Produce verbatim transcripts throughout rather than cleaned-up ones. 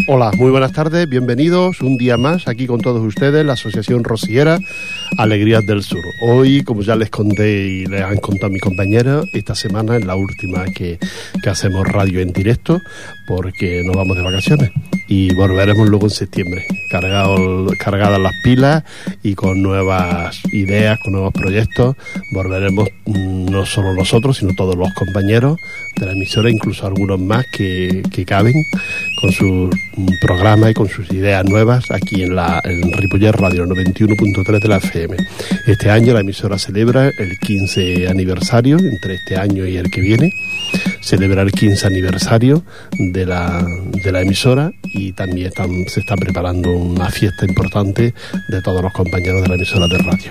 Hola, muy buenas tardes, bienvenidos un día más aquí con todos ustedes, la Asociación Rociera Alegrías del Sur. Hoy, como ya les conté y les han contado mis compañeros, esta semana es la última que, que hacemos radio en directo porque nos vamos de vacaciones y volveremos luego en septiembre, cargado, cargadas las pilas y con nuevas ideas, con nuevos proyectos. Volveremos no solo nosotros, sino todos los compañeros de la emisora, incluso algunos más que, que caben con sus programas y con sus ideas nuevas aquí en la en Ripollet Radio noventa y uno punto tres de la F M. Este año la emisora celebra el quince aniversario, entre este año y el que viene, celebra el quince aniversario de la, de la emisora y también están, se está preparando una fiesta importante de todos los compañeros de la emisora de radio.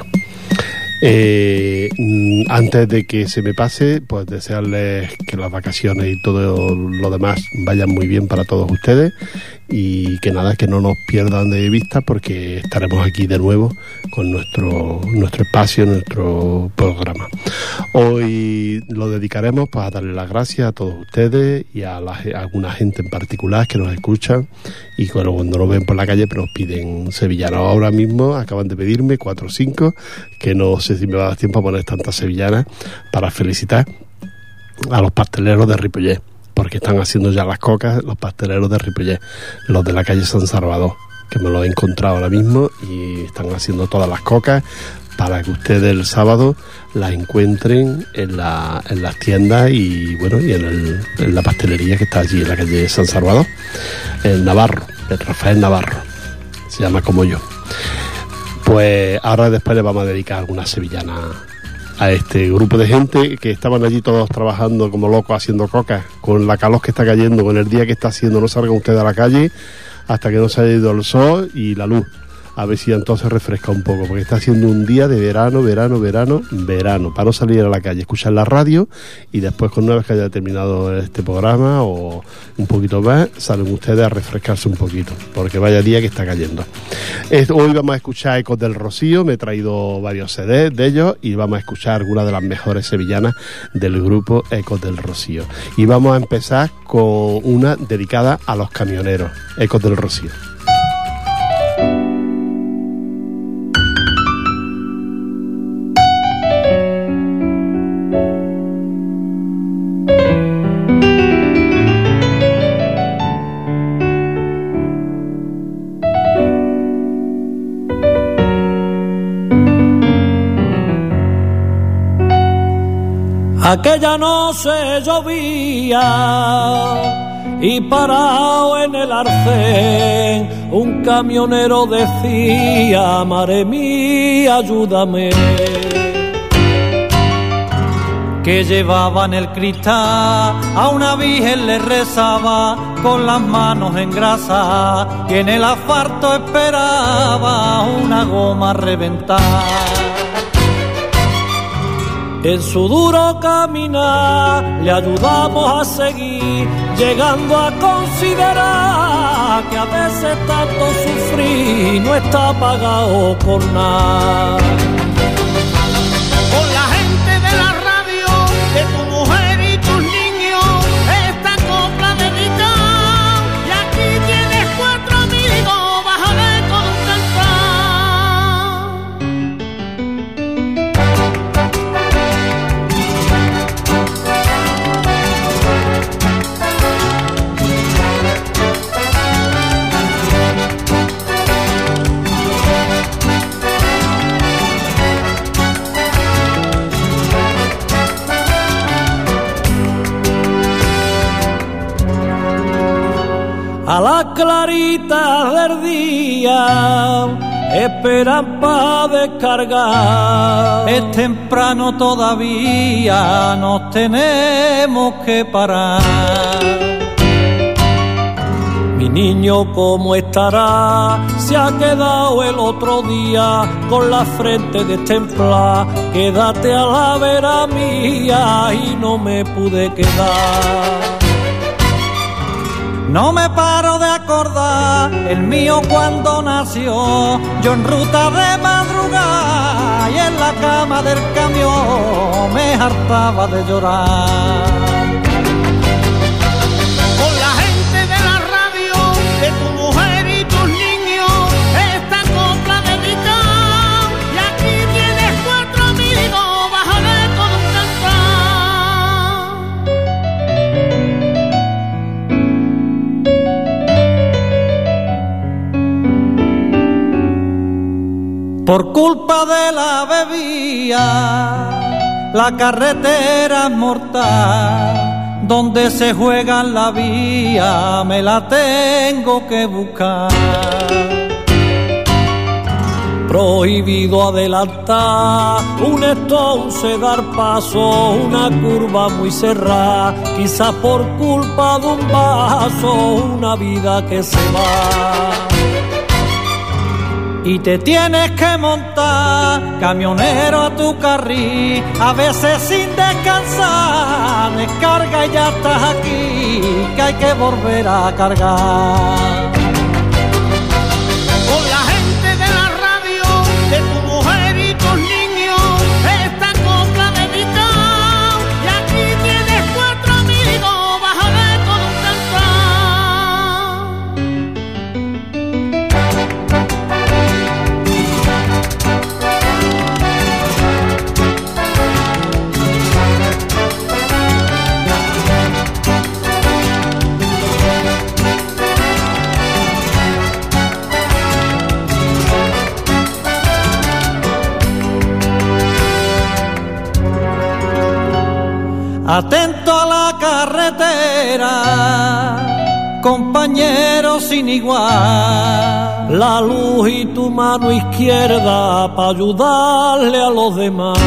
Eh, antes de que se me pase, pues desearles que las vacaciones y todo lo demás vayan muy bien para todos ustedes y que nada, que no nos pierdan de vista porque estaremos aquí de nuevo con nuestro nuestro espacio, nuestro programa. Hoy lo dedicaremos pues a darle las gracias a todos ustedes y a, la, a alguna gente en particular que nos escuchan y cuando, cuando nos ven por la calle pues nos piden sevillanas. Ahora mismo acaban de pedirme cuatro o cinco, que no sé si me va a dar tiempo a poner tantas sevillanas, para felicitar a los pasteleros de Ripollet, porque están haciendo ya las cocas los pasteleros de Ripollet, los de la calle San Salvador, que me lo he encontrado ahora mismo y están haciendo todas las cocas para que ustedes el sábado las encuentren en, la, en las tiendas y bueno y en, el, en la pastelería que está allí en la calle San Salvador, el Navarro, el Rafael Navarro, se llama como yo. Pues ahora después le vamos a dedicar algunas sevillanas a este grupo de gente que estaban allí todos trabajando como locos haciendo cocas, con la calor que está cayendo, con el día que está haciendo. No salgan ustedes a la calle hasta que no se haya ido el sol y la luz, a ver si entonces refresca un poco, porque está haciendo un día de verano, verano, verano, verano, para no salir a la calle, escuchar la radio y después, con una vez que haya terminado este programa o un poquito más, salen ustedes a refrescarse un poquito, porque vaya día que está cayendo. Hoy vamos a escuchar Ecos del Rocío, me he traído varios C Ds de ellos y vamos a escuchar algunas de las mejores sevillanas del grupo Ecos del Rocío. Y vamos a empezar con una dedicada a los camioneros, Ecos del Rocío. Aquella noche llovía y parado en el arcén un camionero decía: madre mía, ayúdame. Que llevaba en el cristal a una virgen, le rezaba con las manos en grasa, que en el asfalto esperaba una goma reventada. En su duro caminar le ayudamos a seguir, llegando a considerar que a veces tanto sufrir no está pagado por nada. Con la gente de la radio, de tu mujer y tus niños, esta copla dedicada, y aquí tienes cuatro amigos, bájale a las claritas del día esperan pa' descargar. Es temprano todavía, nos tenemos que parar. Mi niño, ¿cómo estará? Se ha quedado el otro día con la frente destemplada. Quédate a la vera mía y no me pude quedar. No me paro de acordar el mío cuando nació, yo en ruta de madrugada y en la cama del camión me hartaba de llorar. Con la gente de la radio, de tu Por culpa de la bebida, la carretera es mortal, donde se juega en la vía, me la tengo que buscar. Prohibido adelantar, un entonces dar paso, una curva muy cerrada, quizás por culpa de un vaso, una vida que se va. Y te tienes que montar, camionero, a tu carril, a veces sin descansar, descarga y ya estás aquí, que hay que volver a cargar. Con la gente de la radio, de tu mujer y tus niños, esta copla dedicada, y aquí tienes cuatro amigos, bájale con un Atento a la carretera, compañero sin igual, la luz y tu mano izquierda para ayudarle a los demás.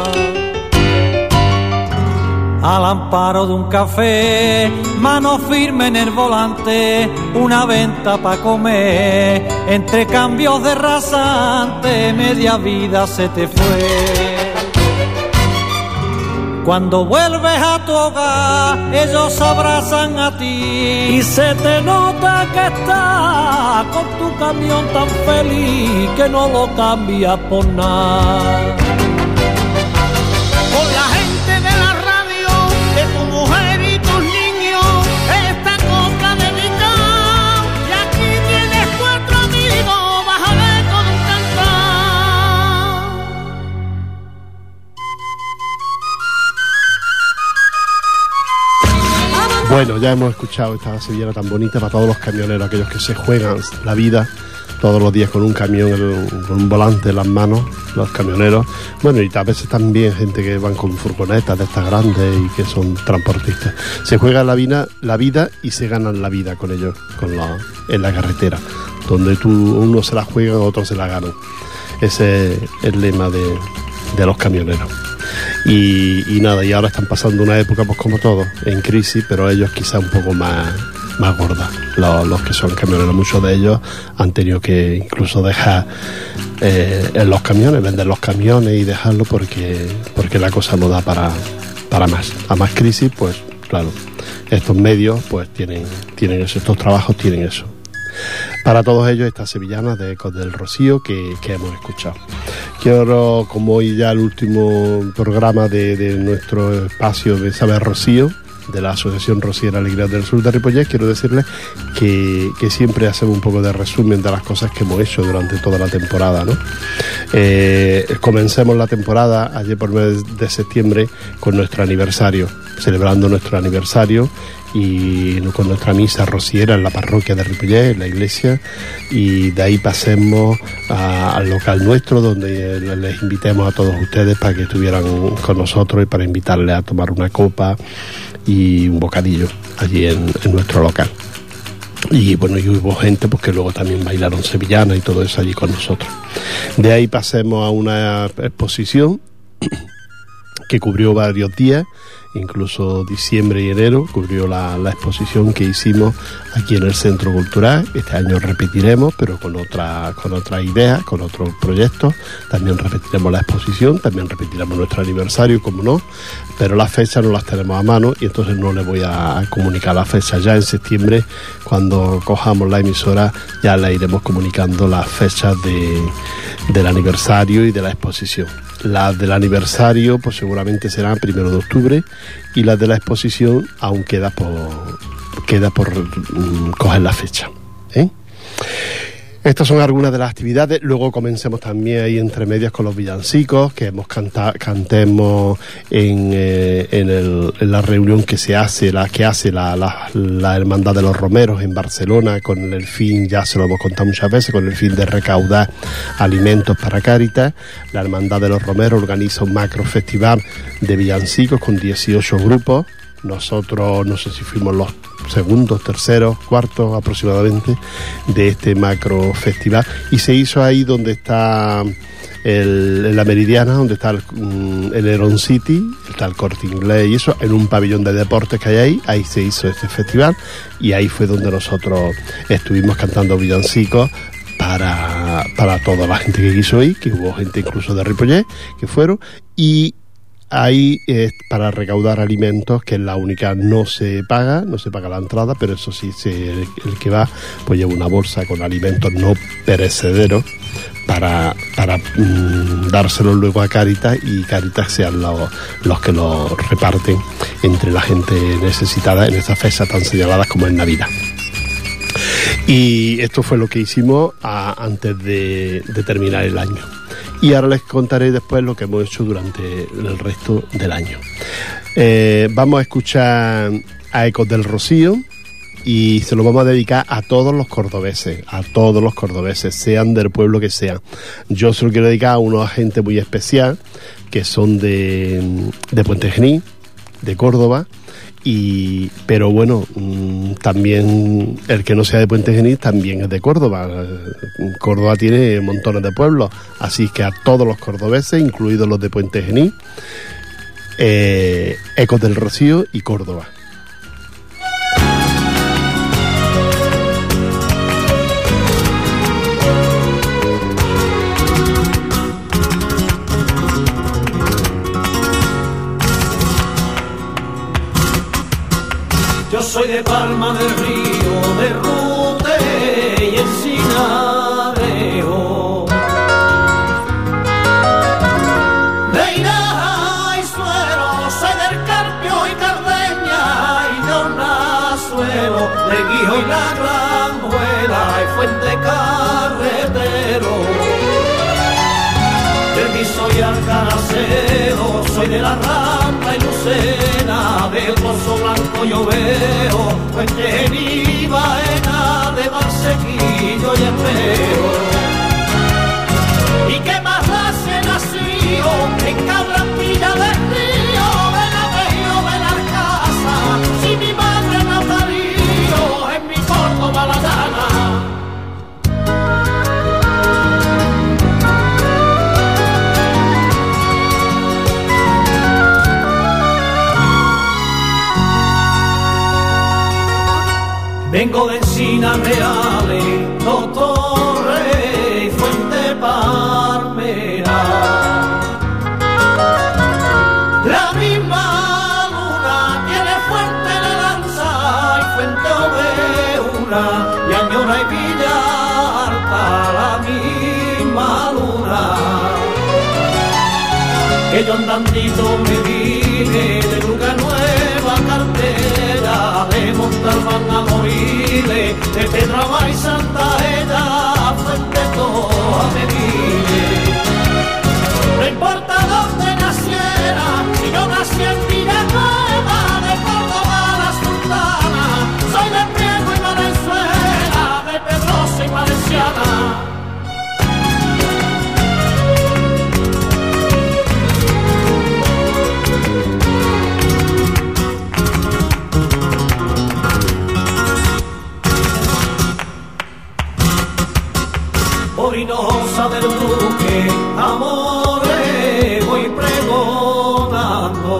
Al amparo de un café, mano firme en el volante, una venta pa' comer, entre cambios de rasante, media vida se te fue. Cuando vuelves a tu hogar, ellos abrazan a ti y se te nota que estás con tu camión tan feliz que no lo cambias por nada. con la gente de la radio, de tu mujer y tus niños, esta copla dedicada, y aquí tienes cuatro amigos, bájale con un Bueno, ya hemos escuchado esta sevillana tan bonita para todos los camioneros, aquellos que se juegan la vida todos los días con un camión, con un volante en las manos, los camioneros. Bueno, y a veces también gente que van con furgonetas de estas grandes y que son transportistas. Se juegan la vida, la vida y se ganan la vida con ellos, con la, en la carretera, donde tú, uno se la juega, otros se la ganan. Ese es el lema de, de los camioneros. Y, y nada, y ahora están pasando una época, pues como todos, en crisis, pero ellos quizá un poco más, más gorda. Los, los que son camioneros, muchos de ellos han tenido que incluso dejar eh, en los camiones, vender los camiones y dejarlo porque, porque la cosa no da para, para más. A más crisis, pues claro, estos medios pues tienen, tienen eso, estos trabajos tienen eso. Para todos ellos, estas sevillanas de Ecos del Rocío que, que hemos escuchado. Quiero, como hoy ya el último programa de, de nuestro espacio de Saber Rocío, de la Asociación Rociera Alegrías del Sur de Ripollet, quiero decirles que, que siempre hacemos un poco de resumen de las cosas que hemos hecho durante toda la temporada, ¿no? Eh, comencemos la temporada ayer por mes de septiembre con nuestro aniversario, celebrando nuestro aniversario y con nuestra misa rociera en la parroquia de Ripollet, en la iglesia, y de ahí pasemos a, al local nuestro, donde les invitemos a todos ustedes para que estuvieran con nosotros y para invitarles a tomar una copa y un bocadillo allí en, en nuestro local. Y bueno, y hubo gente pues que luego también bailaron sevillanas y todo eso allí con nosotros. De ahí pasemos a una exposición que cubrió varios días, incluso diciembre y enero, cubrió la, la exposición que hicimos aquí en el Centro Cultural. Este año repetiremos, pero con otra con otras ideas, con otros proyectos. También repetiremos la exposición, también repetiremos nuestro aniversario, como no, pero las fechas no las tenemos a mano y entonces no les voy a comunicar las fechas. Ya en septiembre, cuando cojamos la emisora, ya le iremos comunicando las fechas de, del aniversario y de la exposición. Las del aniversario pues seguramente serán primero de octubre y las de la exposición aún queda por queda por um, coger la fecha, ¿eh? Estas son algunas de las actividades. Luego comencemos también ahí entre medias con los villancicos, que hemos canta, cantemos en, eh, en, el, en la reunión que se hace, la que hace la, la, la Hermandad de los Romeros en Barcelona, con el fin, ya se lo hemos contado muchas veces, con el fin de recaudar alimentos para Cáritas. La Hermandad de los Romeros organiza un macro festival de villancicos con dieciocho grupos. Nosotros, no sé si fuimos los segundos, terceros, cuartos aproximadamente de este macro festival, y se hizo ahí donde está el, en la Meridiana, donde está el, el Heron City, está el Corte Inglés y eso, en un pabellón de deportes que hay ahí, ahí se hizo este festival, y ahí fue donde nosotros estuvimos cantando villancicos para, para toda la gente que quiso ir, que hubo gente incluso de Ripollet que fueron, y ahí es para recaudar alimentos, que es la única, no se paga, no se paga la entrada, pero eso sí, se, el, el que va pues lleva una bolsa con alimentos no perecederos para, para mmm, dárselos luego a Cáritas, y Cáritas sean los, los que los reparten entre la gente necesitada en estas fechas tan señaladas como en Navidad. Y esto fue lo que hicimos a, antes de, de terminar el año. Y ahora les contaré después lo que hemos hecho durante el resto del año. Eh, vamos a escuchar a Ecos del Rocío, y se lo vamos a dedicar a todos los cordobeses, a todos los cordobeses, sean del pueblo que sean. Yo se lo quiero dedicar a una gente muy especial, que son de, de Puente Genil, de Córdoba. Y, pero bueno, mmm, también el que no sea de Puente Genil también es de Córdoba. Córdoba tiene montones de pueblos, así que a todos los cordobeses, incluidos los de Puente Genil, eh, Ecos del Rocío y Córdoba. Yo soy de Palma del Río, de Rute y Encinarejo, de Hinaja y Suero, soy del Carpio y Cardeña y de Hornazuelo, de Guijo y la Granjuela y Fuente Carretero, del Guiso y Alcaracero, soy de la Rambla y Lucena, del Pozo Blanco yo veo, Puente Genil, Baena, de Barsequillo y Herrero. ¿Y qué más hace nacido en Cabrambilla del Río, Benaveo, Benalcázar, si mi madre no parió en mi Córdoba la llana? Vengo de Encinas Reales, Dos Torres y Fuente Palmera. La misma luna tiene Fuente de Lanza y Fuente Oveuna, y Añora y Villa Alta, la misma luna. Que yo andandito me vine de Luga Nueva Cartera, de Montalbán a Moriles, de Pedraba y Santa Ella, Fuente Toa me vine. No importa dónde naciera, si yo nací en Villanueva, de Córdoba a la Sultana, soy de Priego y Valenzuela, de Pedrosa y Valenciana. Orinosa del Duque, amores voy pregonando.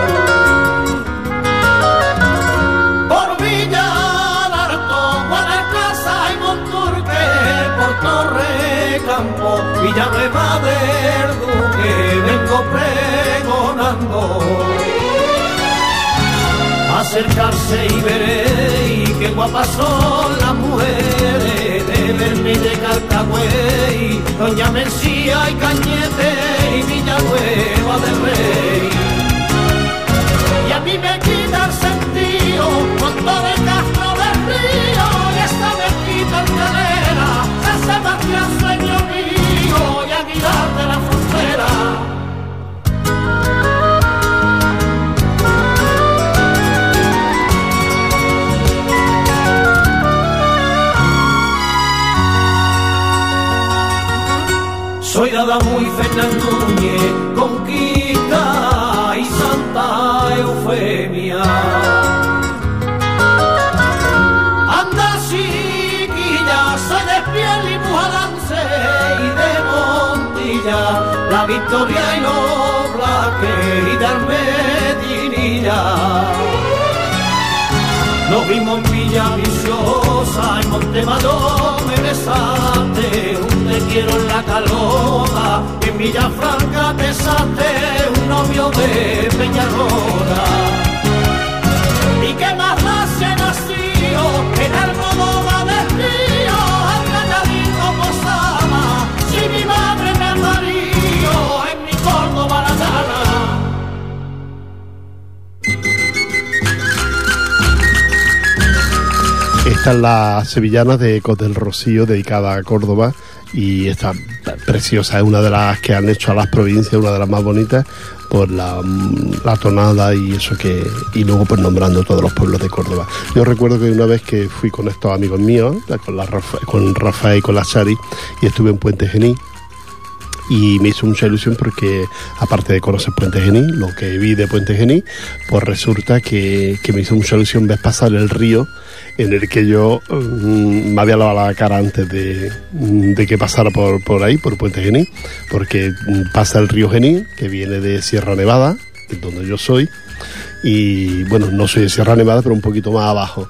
Por Villa Larto, Guadalcaza y Monturque, por Torrecampo, Villanueva del Duque, vengo pregonando. Acercarse y veréis que guapas son las mujeres de Berni de Calcagüey, Doña Mencía y Cañete y Villanueva del Rey. Y a mí me quita el sentido con todo el Castro del Río, y esta mezquita enterera se hace Guadamuy, Fernán Núñez, Conquista y Santa Eufemia. Anda chiquilla, soy de piel y mujalance y de Montilla, la Victoria y los Blaques y de Armedinilla. Nos vimos en Villa Viciosa, en Montemadón me besaste, un te quiero en la Calota, en Villafranca te besaste, un novio de Peñarrola. Y que más nace nació en Almodóvar del Río, Alcanadito posaba, si mi madre me amarillo en mi Córdoba la gana. Esta es la sevillana de Ecos del Rocío, dedicada a Córdoba, y esta preciosa, es una de las que han hecho a las provincias, una de las más bonitas, por la, la tonada y eso que, y luego pues nombrando todos los pueblos de Córdoba. Yo recuerdo que una vez que fui con estos amigos míos, con, la Rafa, con Rafael y con la Chari, y estuve en Puente Genil, y me hizo mucha ilusión porque, aparte de conocer Puente Genil, lo que vi de Puente Genil, pues resulta que, que me hizo mucha ilusión ver pasar el río en el que yo um, me había lavado la cara antes de, de que pasara por, por ahí, por Puente Genil, porque pasa el río Genil, que viene de Sierra Nevada, que es donde yo soy, y bueno, no soy de Sierra Nevada, pero un poquito más abajo.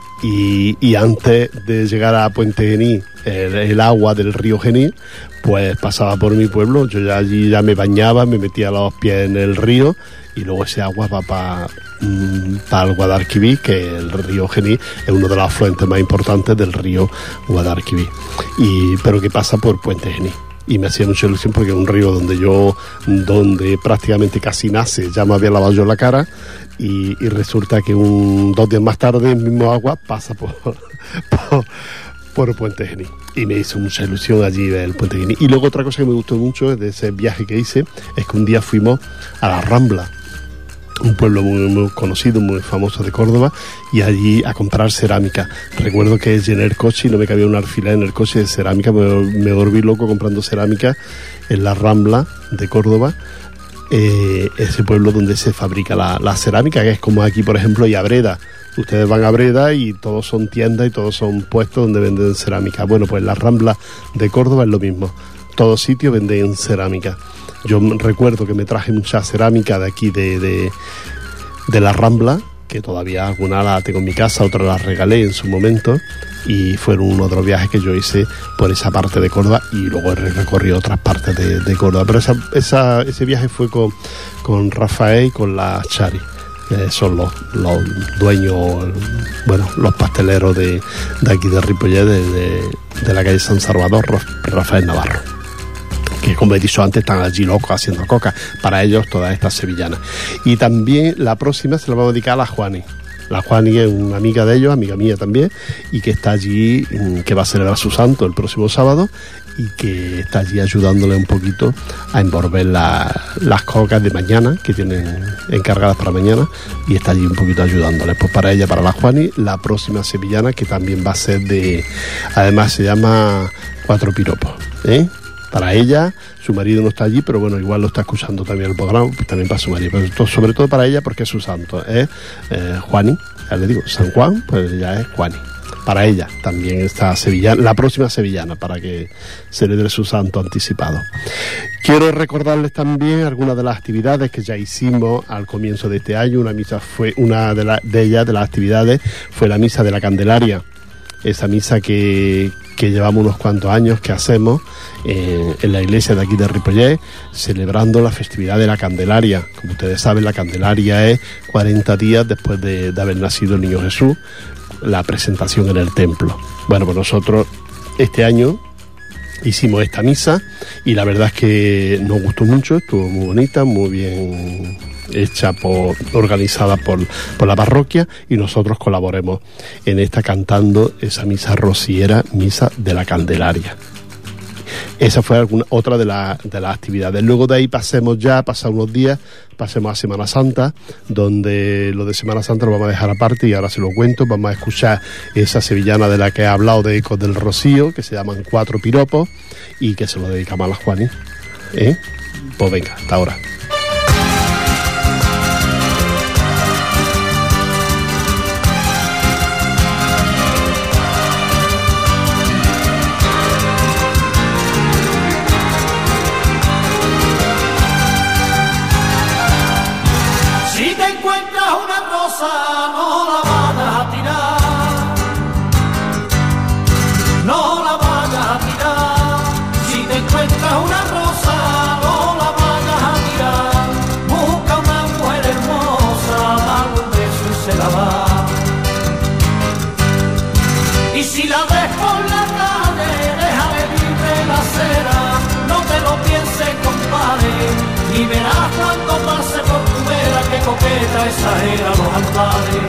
Y, y antes de llegar a Puente Genil, el, el agua del río Genil, pues pasaba por mi pueblo. Yo ya allí ya me bañaba, me metía los pies en el río, y luego ese agua va para pa el Guadalquivir, que el río Genil es uno de los afluentes más importantes del río Guadalquivir, y pero que pasa por Puente Genil. Y me hacía mucha ilusión porque es un río donde yo, donde prácticamente casi nace, ya me había lavado yo la cara, y, y resulta que un dos días más tarde el mismo agua pasa por, por, por Puente Genil. Y me hizo mucha ilusión allí ver el Puente Genil. Y luego otra cosa que me gustó mucho de ese viaje que hice es que un día fuimos a la Rambla, un pueblo muy, muy conocido, muy famoso de Córdoba, y allí a comprar cerámica. Recuerdo que llené el coche y no me cabía un alfiler en el coche de cerámica, me, me volví loco comprando cerámica en la Rambla de Córdoba, eh, ese pueblo donde se fabrica la, la cerámica, que es como aquí, por ejemplo, y a Breda. Ustedes van a Breda y todos son tiendas y todos son puestos donde venden cerámica. Bueno, pues la Rambla de Córdoba es lo mismo. Todos sitios venden cerámica. Yo recuerdo que me traje mucha cerámica de aquí de, de, de la Rambla, que todavía alguna la tengo en mi casa, otra la regalé en su momento, y fueron uno de los viajes que yo hice por esa parte de Córdoba, y luego he recorrido otras partes de, de Córdoba. Pero esa, esa, ese viaje fue con, con Rafael y con la Chari, que son los, los dueños, bueno, los pasteleros de, de aquí de Ripollet, de, de, de la calle San Salvador, Rafael Navarro, que como he dicho antes están allí locos haciendo coca, para ellos todas estas sevillanas. Y también la próxima se la vamos a dedicar a la Juani. La Juani es una amiga de ellos, amiga mía también, y que está allí, que va a celebrar su santo el próximo sábado, y que está allí ayudándole un poquito a envolver la, las cocas de mañana, que tienen encargadas para mañana, y está allí un poquito ayudándole. Pues para ella, para la Juani, la próxima sevillana, que también va a ser de, además se llama Cuatro Piropos, ¿eh? Para ella, su marido no está allí, pero bueno, igual lo está escuchando también el programa, pues también para su marido, pero esto, sobre todo para ella, porque es su santo, es eh, Juani, ya le digo, San Juan, pues ya es Juani. Para ella también está sevillana, la próxima sevillana, para que celebre su santo anticipado. Quiero recordarles también algunas de las actividades que ya hicimos al comienzo de este año. Una misa fue, una de, la, de ellas, de las actividades, fue la misa de la Candelaria. Esa misa que, que llevamos unos cuantos años que hacemos eh, en la iglesia de aquí de Ripollet, celebrando la festividad de la Candelaria. Como ustedes saben, la Candelaria es cuarenta días después de, de haber nacido el niño Jesús, la presentación en el templo. Bueno, pues nosotros este año hicimos esta misa y la verdad es que nos gustó mucho, estuvo muy bonita, muy bien hecha, por, organizada por, por la parroquia, y nosotros colaboremos en esta cantando esa misa rociera, misa de la Candelaria. Esa fue alguna, otra de, la, de las actividades. Luego de ahí pasemos ya, pasados unos días, pasemos a Semana Santa, donde lo de Semana Santa lo vamos a dejar aparte y ahora se lo cuento. Vamos a escuchar esa sevillana de la que he hablado, de Ecos del Rocío, que se llaman Cuatro Piropos, y que se lo dedicamos a la Juani. ¿eh? Pues venga, hasta ahora. Si te encuentras una rosa, no la vayas a tirar, no la vayas a tirar. Si te encuentras una rosa, no la vayas a tirar. Busca una mujer hermosa, dale un beso y se la va. Y si la ves por la calle, déjale libre la acera, no te lo pienses, compadre, y verás cuando pase por tu vera que coqueta exagera los andares.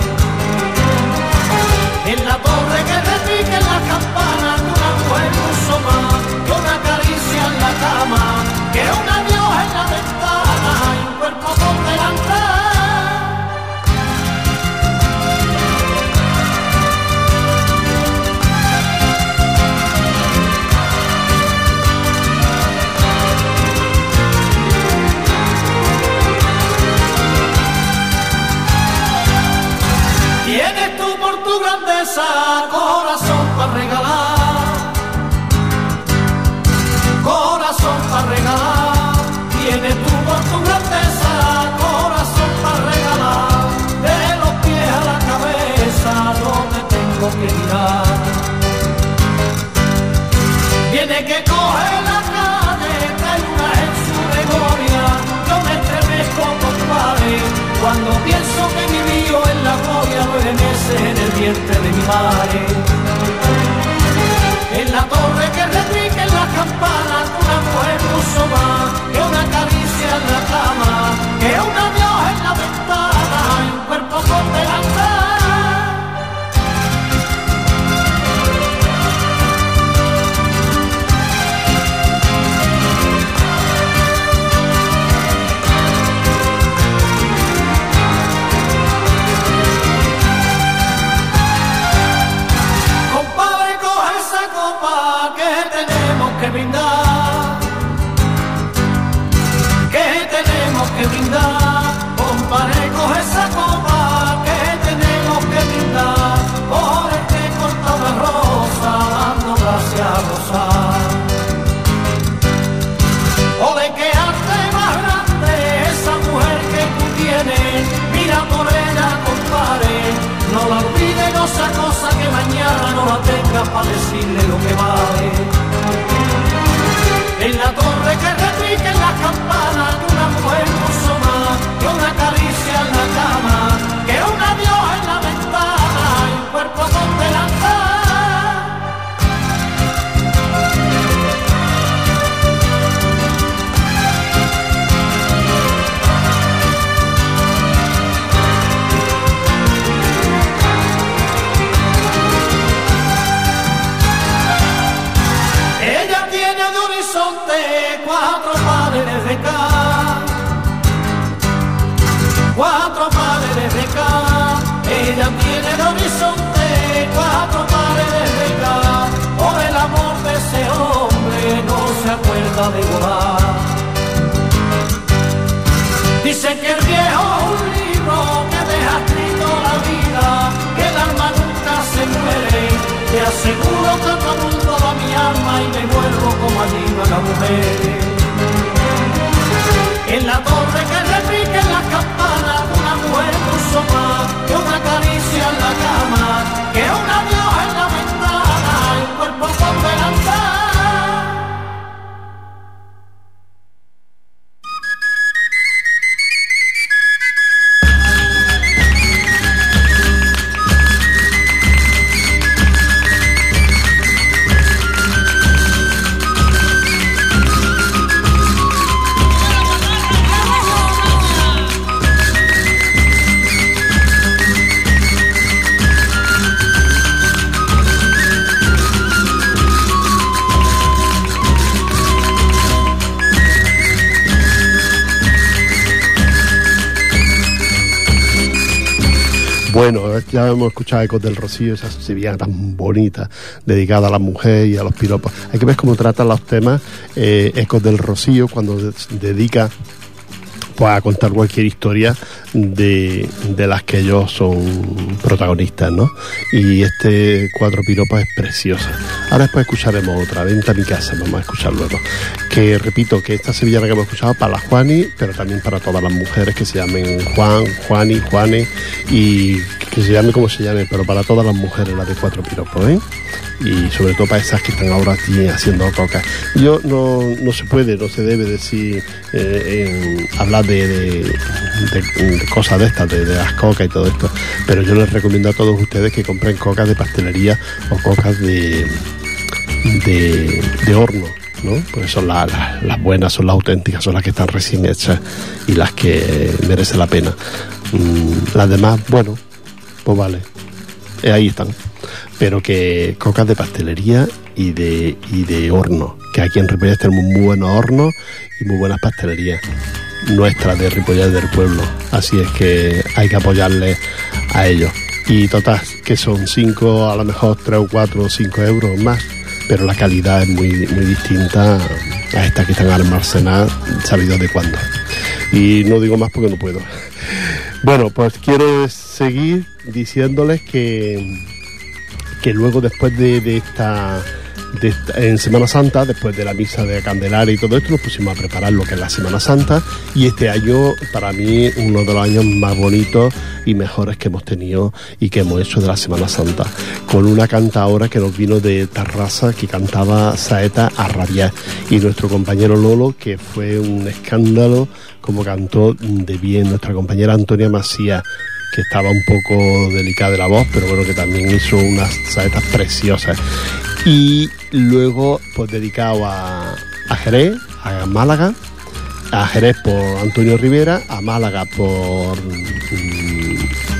En la torre que repique las campanas, una mujer puso más que una caricia en la cama, que un adiós en la ventana y un cuerpo por delante. Tienes tú por tu grandeza corazón para regalar, corazón para regalar. Tienes tú por tu grandeza corazón para regalar. De los pies a la cabeza no te tengo que mirar. Viene que coge la calle, trae una en su memoria. Yo me estremezco, compadre, cuando pienso que mi vivo en la gloria nueve meses en el vientre de mi madre. En la torre que repiquen las campanas, una mujer puso más que una caricia en la cama, que un adiós en la ventana y un cuerpo por delante. Que brindar, que tenemos que brindar, compadre, coge esa copa, que tenemos que brindar, por el que corta una rosa, dando gracias a gozar. Ole, que arte más grande, esa mujer que tú tienes, mira por ella, compadre, no la olvides, no sea cosa que mañana no la tengas para decirle lo que vale. En la torre que repiquen las campanas, una mujer puso más que una caricia en la cama, que un adiós en la ventana y un cuerpo por delante. Cuatro paredes de cal, cuatro paredes de cal, ella tiene el horizonte, cuatro paredes de cal, por el amor de ese hombre no se acuerda de volar. Dicen que el viejo es un libro que deja escrito la vida, que el alma nunca se muere, te aseguro que todo mundo da mi alma y me vuelvo como allí a la mujer. En la torre que repiquen las campanas, una mujer puso más que una caricia en la cama, que un adiós en la ventana y un cuerpo por delante. Bueno, ya hemos escuchado Ecos del Rocío, esa sevillana tan bonita, dedicada a la mujer y a los piropos. Hay que ver cómo tratan los temas eh, Ecos del Rocío cuando dedica pues a contar cualquier historia de, de las que ellos son protagonistas, ¿no? Y este Cuatro Piropos es preciosa. Ahora después escucharemos otra, Vente a mi casa, vamos a escuchar luego. Que repito, que esta sevillana que hemos escuchado para la Juani, pero también para todas las mujeres que se llamen Juan, Juani, Juane, y que se llame como se llame, pero para todas las mujeres, la de Cuatro Piropos, ¿eh? Y sobre todo para esas que están ahora aquí haciendo coca. Yo no, no se puede, no se debe decir, eh, en, hablar de, de, de, de cosas de estas, de, de las cocas y todo esto, pero yo les recomiendo a todos ustedes que compren cocas de pastelería o cocas de, de, de horno, ¿no? Pues son las, las, las buenas, son las auténticas, son las que están recién hechas y las que merecen la pena. Mm, las demás, bueno, pues vale, eh, ahí están. Pero que cocas de pastelería y de y de horno, que aquí en Ripollet tenemos muy buenos hornos y muy buenas pastelerías nuestras de Ripollet del pueblo, así es que hay que apoyarles a ellos. Y total, que son cinco, a lo mejor tres o cuatro o cinco euros más, pero la calidad es muy, muy distinta a estas que están almacenadas, sabido de cuándo. Y no digo más porque no puedo. Bueno, pues quiero seguir diciéndoles que que luego después de, de, esta, de esta, en Semana Santa, después de la misa de Candelaria y todo esto, nos pusimos a preparar lo que es la Semana Santa, y este año, para mí, uno de los años más bonitos y mejores que hemos tenido y que hemos hecho de la Semana Santa, con una cantaora que nos vino de Tarrasa, que cantaba Saeta a rabiar, y nuestro compañero Lolo, que fue un escándalo como cantó de bien, nuestra compañera Antonia Macías, que estaba un poco delicada de la voz, pero bueno, que también hizo unas saetas preciosas. Y luego, pues dedicado a, a Jerez, a Málaga, a Jerez por Antonio Rivera, a Málaga por um,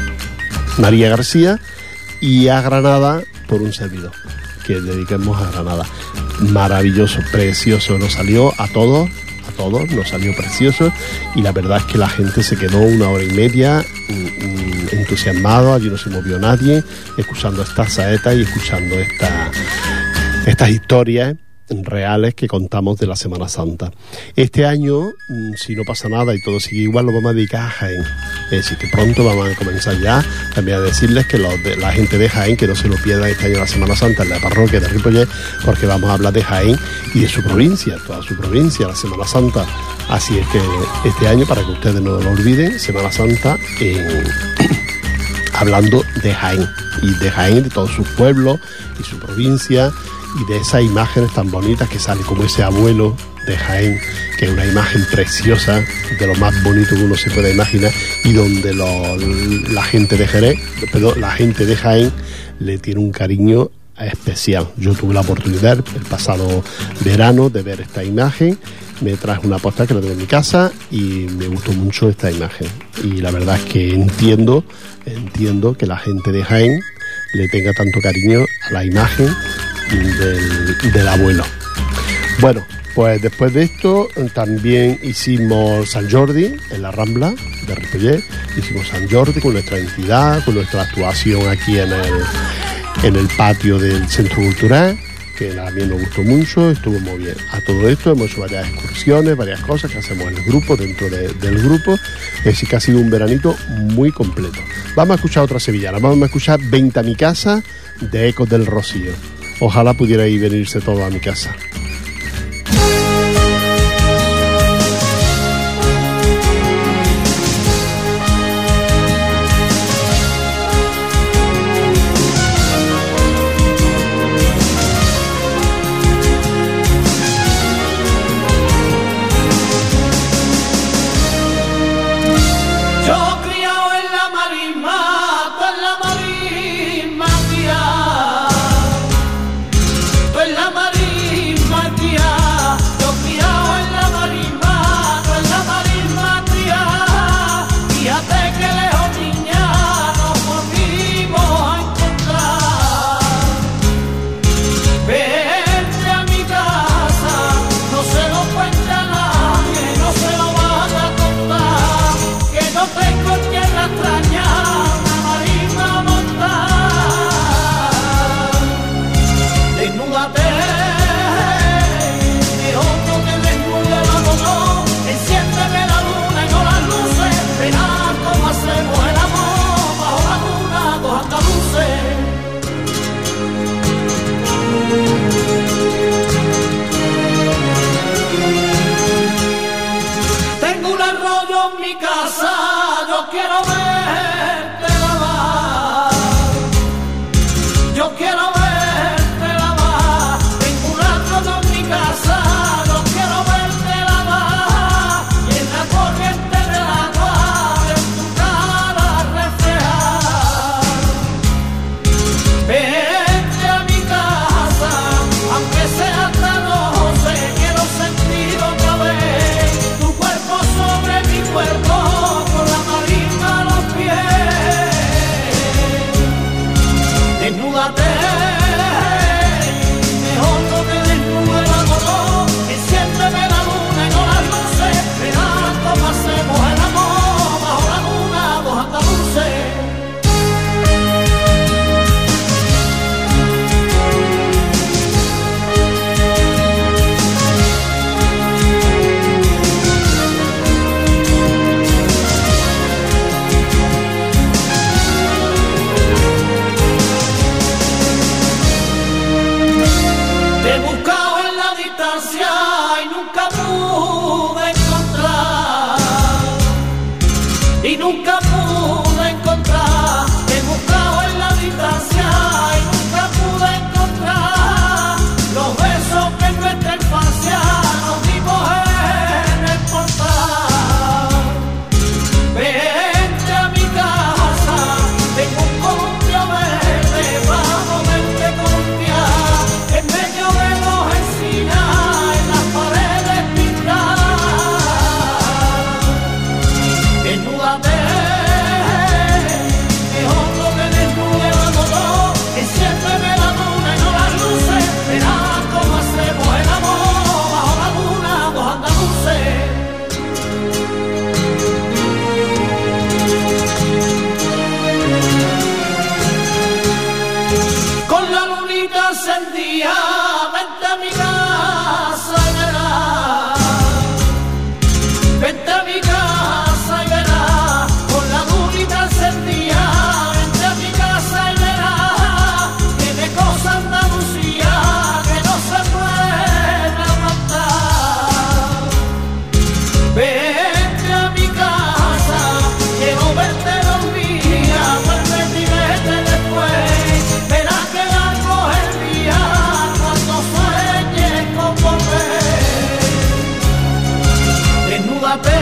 María García, y a Granada por un servidor, que dediquemos a Granada. Maravilloso, precioso, nos salió a todos, a todos, nos salió precioso, y la verdad es que la gente se quedó una hora y media entusiasmado, allí no se movió nadie, escuchando estas saetas y escuchando esta, estas historias reales que contamos de la Semana Santa. Este año, si no pasa nada y todo sigue igual, lo vamos a dedicar a Jaén. Es decir, que pronto vamos a comenzar ya también a decirles que los de, la gente de Jaén, que no se lo pierda este año la Semana Santa en la parroquia de Ripollet, porque vamos a hablar de Jaén y de su provincia, toda su provincia, la Semana Santa. Así es que este año, para que ustedes no lo olviden, Semana Santa en... hablando de Jaén, y de Jaén, de todos sus pueblos y su provincia, y de esas imágenes tan bonitas que sale como ese abuelo de Jaén, que es una imagen preciosa, de lo más bonito que uno se puede imaginar, y donde lo, la gente de Jerez, perdón, la gente de Jaén le tiene un cariño especial. Yo tuve la oportunidad el pasado verano de ver esta imagen, me traje una postal que la tengo en mi casa y me gustó mucho esta imagen, y la verdad es que entiendo entiendo que la gente de Jaén le tenga tanto cariño a la imagen del, del abuelo. Bueno, pues después de esto también hicimos San Jordi en la Rambla de Ripollet, hicimos San Jordi con nuestra entidad, con nuestra actuación aquí en el, en el patio del Centro Cultural, que también nos gustó mucho, estuvo muy bien. A todo esto hemos hecho varias excursiones, varias cosas que hacemos en el grupo, dentro de, del grupo, es decir, que ha sido un veranito muy completo. Vamos a escuchar otra sevillana, vamos a escuchar Vente a mi casa, de Ecos del Rocío. Ojalá pudierais venirse todos a mi casa. En la marisma quiero verte lavar, yo quiero verte lavar, tengo un arroyo en mi casa, yo quiero verte lavar, y en la corriente del agua de tu cara reflejar. Vente a mi casa, aunque sea esta noche, quiero sentir otra vez tu cuerpo sobre mi cuerpo, con la marisma a los pies. Desnúdate, mejor no te desnude el amor, enciéndeme la luna y no las luces, verás cómo hacemos el amor bajo la luna, dos andaluces. Te he buscado en la distancia y nunca pude encontrar, y nunca pude encontrar. Te he buscado en la distancia y nunca pude encontrar los besos que en nuestra infancia nos dimos en el portal. Vente a mi casa, tengo un columpio verde para poderte columpiar, en medio de los encinas, en las paredes pintadas. Desnúdate, mejor no te desnude el amor, enciéndeme la luna y no las luces, verás cómo hacemos el amor bajo la luna, dos andaluces. Con la lunita encendida, vente a mi casa y verás, vente a mi casa y verás, con la lunita encendida, vente a mi casa y verás, tiene cosas Andalucía que no se pueden aguantar. Vente a mi casa, quiero verte los días, vuelve y vete después, verás que largo es el día cuando sueñes con volver. Desnúdate,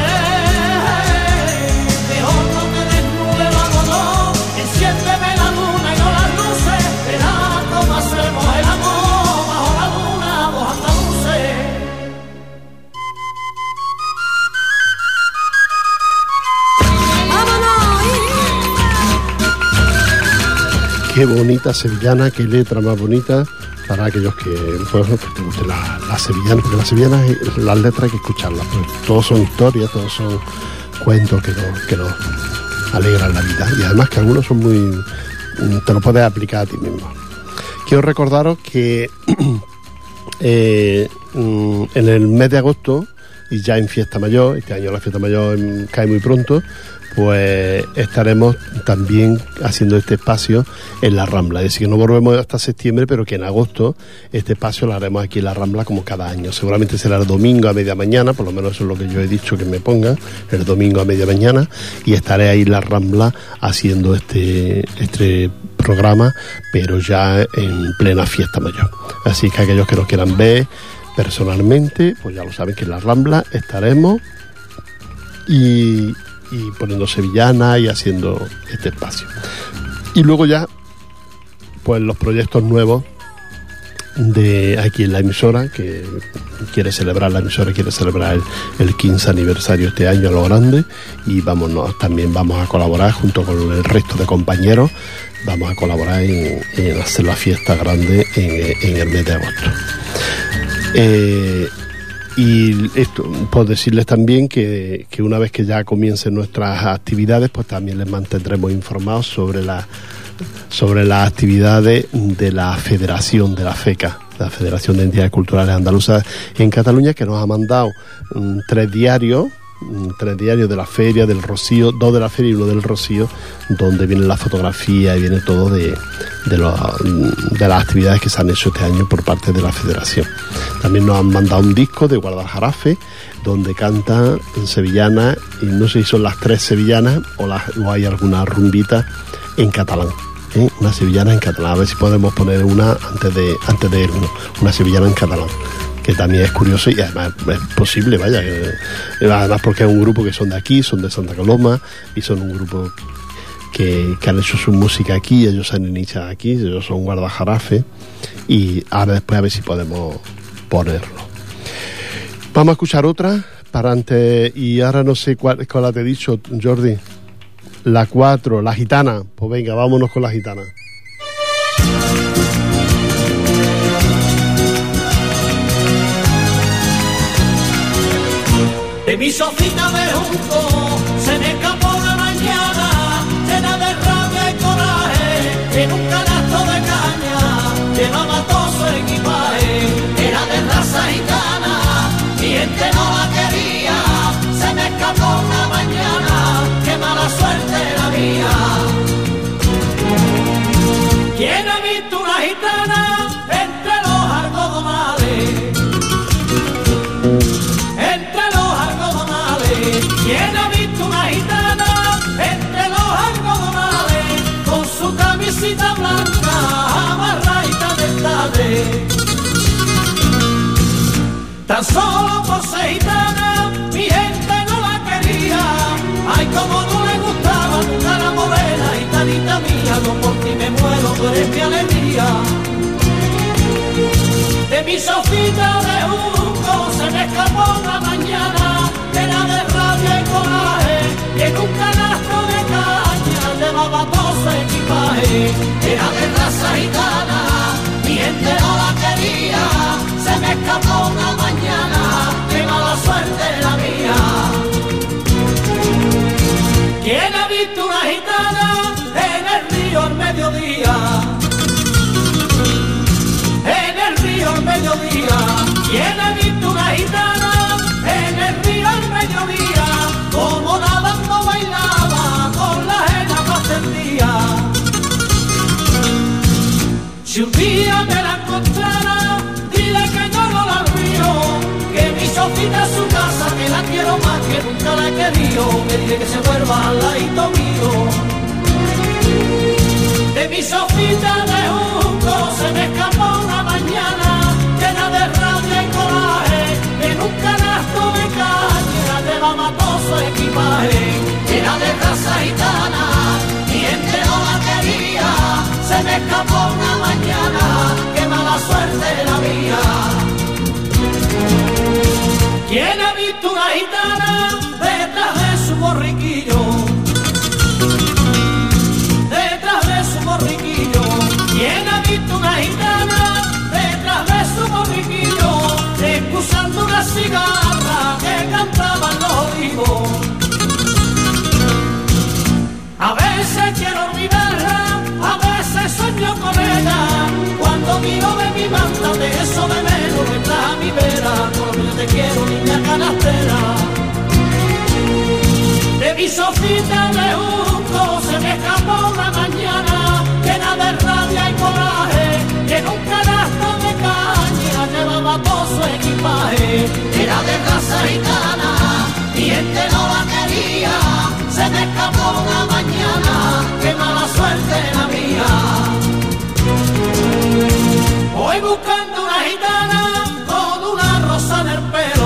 mejor no te desnude el amor, enciéndeme la luna y no las luces, verás cómo hacemos el amor bajo la luna, dos andaluces. Qué bonita sevillana, qué letra más bonita para aquellos que, pues, que te guste la, la sevillana, porque las sevillanas, las letras hay que escucharlas, pues, todos son historias, todos son cuentos que nos, que nos alegran la vida, y además que algunos son muy, te lo puedes aplicar a ti mismo. Quiero recordaros que eh, en el mes de agosto, y ya en Fiesta Mayor, este año la Fiesta Mayor cae muy pronto, pues estaremos también haciendo este espacio en la Rambla. Es decir, que no volvemos hasta septiembre, pero que en agosto este espacio lo haremos aquí en la Rambla como cada año. Seguramente será el domingo a media mañana, por lo menos eso es lo que yo he dicho que me pongan, el domingo a media mañana, y estaré ahí en la Rambla haciendo este, este programa, pero ya en plena Fiesta Mayor. Así que aquellos que nos quieran ver personalmente, pues ya lo saben que en la Rambla estaremos y... y poniendo sevillana y haciendo este espacio. Y luego ya, pues los proyectos nuevos de aquí en la emisora, que quiere celebrar la emisora, quiere celebrar el, el quince aniversario este año a lo grande, y vámonos, también vamos a colaborar junto con el resto de compañeros, vamos a colaborar en, en hacer la fiesta grande en, en el mes de agosto. Eh, Y esto, por decirles también que, que una vez que ya comiencen nuestras actividades, pues también les mantendremos informados sobre la, sobre las actividades de la Federación de la FECA, la Federación de Entidades Culturales Andaluzas en Cataluña, que nos ha mandado um, tres diarios tres diarios de la feria, del Rocío, dos de la feria y uno del Rocío, donde viene la fotografía y viene todo de, de, lo, de las actividades que se han hecho este año por parte de la Federación. También nos han mandado un disco de Guadalajarafe, donde canta en sevillana, y no sé si son las tres sevillanas o, las, o hay alguna rumbita en catalán. ¿eh? Una sevillana en catalán, a ver si podemos poner una antes de antes de irnos, una sevillana en catalán, que también es curioso y además es posible, vaya, eh, además porque es un grupo que son de aquí, son de Santa Coloma y son un grupo que, que han hecho su música aquí, ellos se han iniciado aquí, ellos son Guadalajarafe, y ahora después a ver si podemos ponerlo. Vamos a escuchar otra para antes, y ahora no sé cuál, cuál te he dicho, Jordi. La cuatro, la gitana. Pues venga, vámonos con la gitana. De mi sofita de junco se me escapó una mañana llena de rabia y coraje, en un canasto de caña llevaba todo su equipaje, era de raza gitana, mi gente no la quería, se me escapó una mañana, qué mala suerte la mía. ¿Quién ha visto una gitana entre los algodonales? Entre los algodonales. ¿Quién ha visto una gitana entre los algodonales? Con su camisita blanca, amarradita de tarde. Tan solo por ser gitana, mi gente no la quería. Ay, como no le gustaba tu cara morena, gitanita mía, no por ti me muero, tú eres mi alegría. De mi sofita de junco se me escapó una mañana, llena de rabia y coraje, y en un canasto de caña llevaba todo su equipaje, era de raza gitana, mi gente no la quería, se me escapó una mañana, qué mala suerte la mía. ¿Quién ha visto una gitana en el río al mediodía? En el río al mediodía. ¿Quién ha visto una gitana en el río al mediodía? Como nadando bailaba con la ajena más tendía. Si un día me la encontrara, dile que yo no la río, que mi sofita es su casa, que la quiero más que nunca la he querido, que dile que se vuelva al ladito mío. De mi sofita de junco se me escapó una mañana, llena de rabia y coraje, en un canasto de caña llevaba todo su equipaje, era de raza gitana, mi gente no la quería, se me escapó una mañana, qué mala suerte la mía. ¿Quién ha visto una gitana detrás de su borriquillo? Detrás de su borriquillo. ¿Quién ha visto una gitana detrás de su borriquillo? Excusando una cigarra que cantaban los olivos. A veces quiero olvidarla, a veces sueño con ella, cuando miro de mi manta de eso de menos detrás a mi vera, por lo que yo te quiero, niña canastera. De mi sofita de junco se me escapó una mañana, llena de rabia y coraje, y en un canasto de caña llevaba todo su equipaje, era de raza gitana, mi gente no la quería, se me escapó una mañana, qué mala suerte la mía. Voy buscando una gitana con una rosa en el pelo,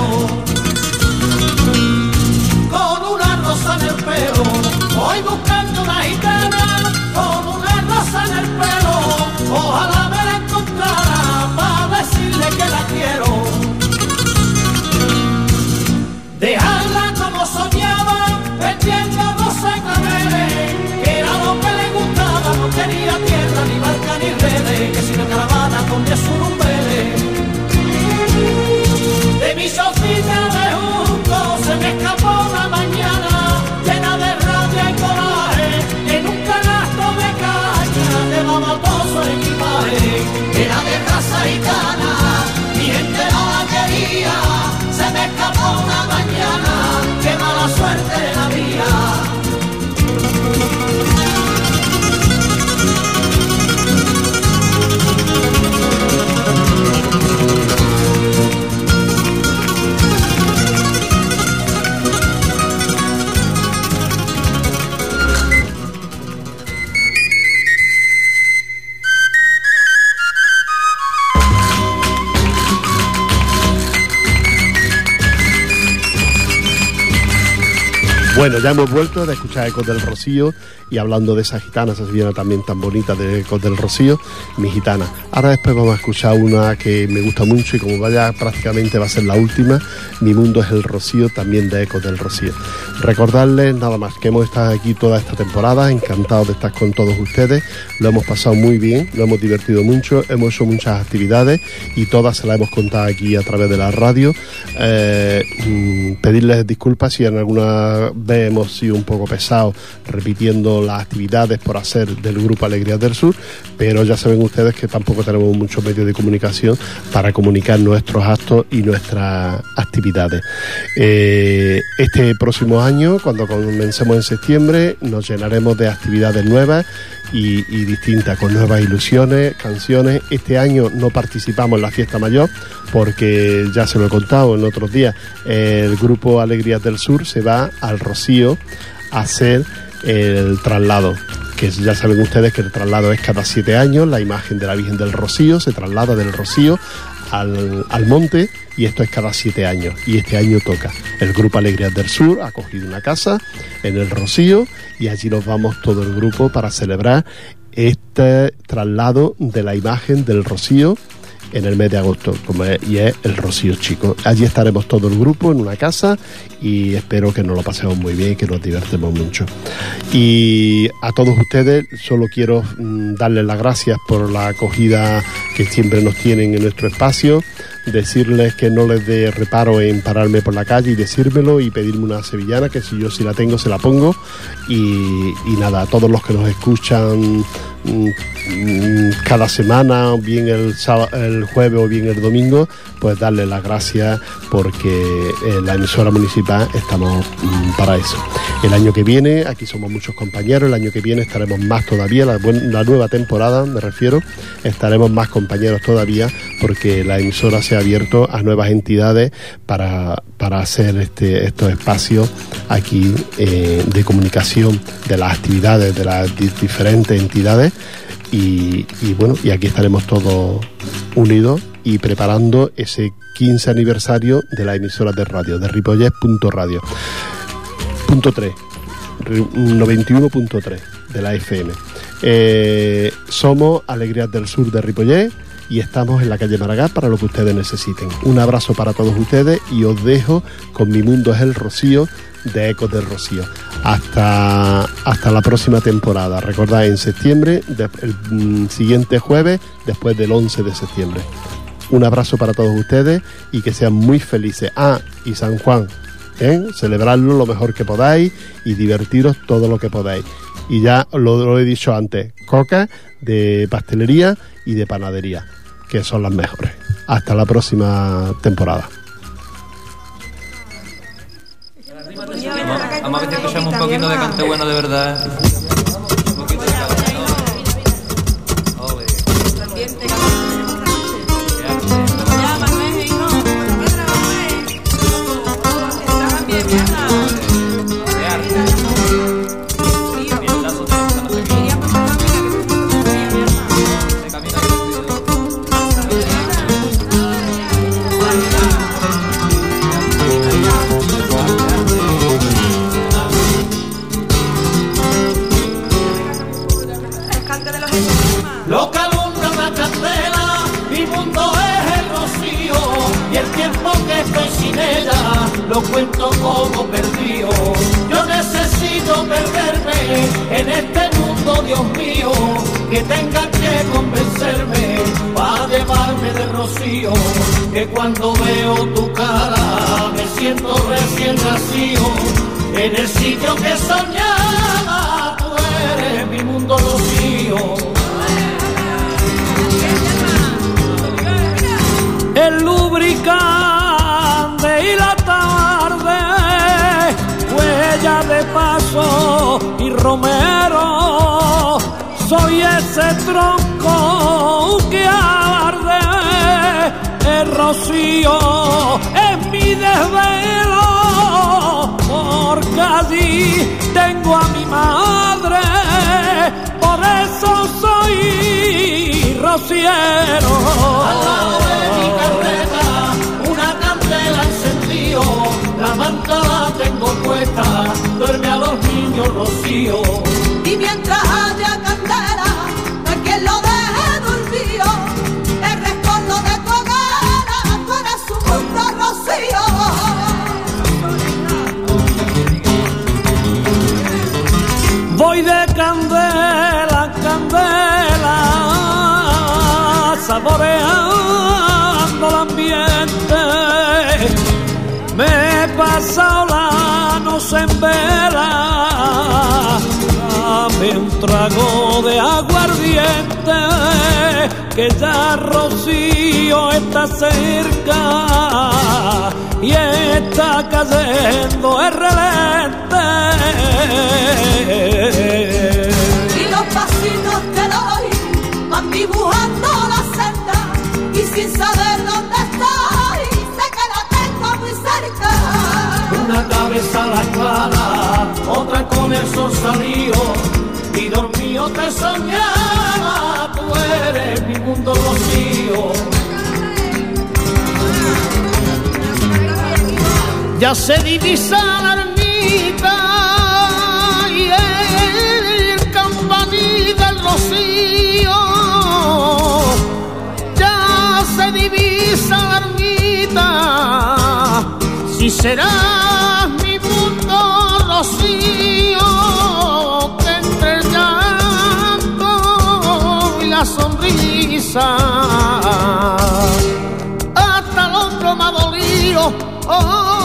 con una rosa en el pelo. Voy buscando una gitana con una rosa en el pelo, ojalá me la encontrara para decirle que la quiero. Dejarla como soñaba, vendiendo rosa y claveles, que era lo que le gustaba, no tenía tierra, ni barca, ni redes, que si me caravana ponía su rumbeles. De mi sofita de junco se me escapó una mañana, llena de rabia y coraje, en un canasto de caña llevaba todo su equipaje, era de raza gitana, mi gente no la quería, se me escapó una mañana, qué mala Bueno, ya hemos vuelto de escuchar Ecos del Rocío y hablando de esa gitana, esa sevillana también tan bonita de Ecos del Rocío, Mi Gitana. Ahora después vamos a escuchar una que me gusta mucho y como vaya prácticamente va a ser la última, Mi Mundo es el Rocío, también de Ecos del Rocío. Recordarles nada más que hemos estado aquí toda esta temporada, encantados de estar con todos ustedes, lo hemos pasado muy bien, lo hemos divertido mucho, hemos hecho muchas actividades y todas se las hemos contado aquí a través de la radio. Eh, pedirles disculpas si en alguna vez hemos sido un poco pesados repitiendo las actividades por hacer del Grupo Alegrías del Sur, pero ya saben ustedes que tampoco tenemos muchos medios de comunicación para comunicar nuestros actos y nuestras actividades. Eh, este próximo año, cuando comencemos en septiembre, nos llenaremos de actividades nuevas y, y distintas, con nuevas ilusiones, canciones. Este año no participamos en la fiesta mayor porque, ya se lo he contado en otros días, el Grupo Alegrías del Sur se va al Rocío a hacer el traslado, que ya saben ustedes que el traslado es cada siete años. La imagen de la Virgen del Rocío se traslada del Rocío al, al monte, y esto es cada siete años, y este año toca. El Grupo Alegrías del Sur ha cogido una casa en el Rocío y allí nos vamos todo el grupo para celebrar este traslado de la imagen del Rocío en el mes de agosto, como es, y es el Rocío Chico. Allí estaremos todo el grupo en una casa y espero que nos lo pasemos muy bien y que nos divertemos mucho. Y a todos ustedes solo quiero mm, darles las gracias por la acogida que siempre nos tienen en nuestro espacio, decirles que no les dé reparo en pararme por la calle y decírmelo y pedirme una sevillana, que si yo si la tengo se la pongo. Y, y nada, a todos los que nos escuchan cada semana, bien el, sábado, el jueves o bien el domingo, pues darle las gracias porque en la emisora municipal estamos mm, para eso. El año que viene, aquí somos muchos compañeros, el año que viene estaremos más todavía, la, la nueva temporada me refiero, estaremos más compañeros todavía porque la emisora se ha abierto a nuevas entidades para, para hacer este, estos espacios aquí eh, de comunicación de las actividades de las di- diferentes entidades. Y, y bueno, y aquí estaremos todos unidos y preparando ese quince aniversario de la emisora de radio, de Ripollet punto radio. Punto tres, noventa y uno punto tres de la F M. Eh, somos Alegrías del Sur de Ripollet y estamos en la calle Maragall para lo que ustedes necesiten. Un abrazo para todos ustedes y os dejo con Mi Mundo es el Rocío de Ecos del Rocío. Hasta, hasta la próxima temporada. Recordad, en septiembre, de, el mm, siguiente jueves, después del once de septiembre. Un abrazo para todos ustedes y que sean muy felices. Ah, y San Juan, ¿eh? Celebrarlo lo mejor que podáis y divertiros todo lo que podáis. Y ya lo, lo he dicho antes, coca de pastelería y de panadería, que son las mejores. Hasta la próxima temporada. Vamos a ver si escuchamos un poquito de cante bueno de verdad. Un poquito de cante. Ole. Ya, Manuel, hijo. ¿Qué trabajo es? Estaban bien, ¿verdad? De arte. Mientras otros no sé qué. Iríamos con una amiga que se puso bien, ¿verdad? Se camina vestido. Lo que alumbra la candela, mi mundo es el rocío, y el tiempo que estoy sin ella, lo cuento como perdido. Yo necesito perderme en este mundo, Dios mío, que tenga que convencerme para llevarme del rocío, que cuando veo tu cara me siento recién nacido, en el sitio que soñaba, tú eres mi mundo rocío. El lubricante y la tarde, huella de paso y romero, soy ese tronco que arde, el rocío es mi desvelo, porque allí tengo a mi madre, por eso soy rociero. Al lado de mi carreta, una candela encendió, la manta la tengo puesta, duerme a los niños rocío. Y mientras haya candela, no hay quien lo deje dormido. El rescoldo de tu hoguera, tú eres su mundo rocío. Voy de candela en candela, saboreando el ambiente. Me he pasado la noche en vela, dame un trago de aguardiente, que ya Rocío está cerca y está cayendo el relente. Y los pasitos que doy van dibujando la senda, y sin saber dónde estoy, sé que la tengo muy cerca. Una cabeza a la clara, otra con el sol salido, y dormido te soñaba, tú eres mi mundo rocío. Ya se divisa la ermita y el campanil del rocío, ya se divisa la ermita, si serás mi mundo rocío, que entre el llanto y la sonrisa hasta el hombro me ha dolido. Oh,